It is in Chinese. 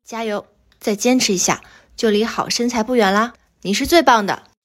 加油，再坚持一下，就离好身材不远啦！你是最棒的。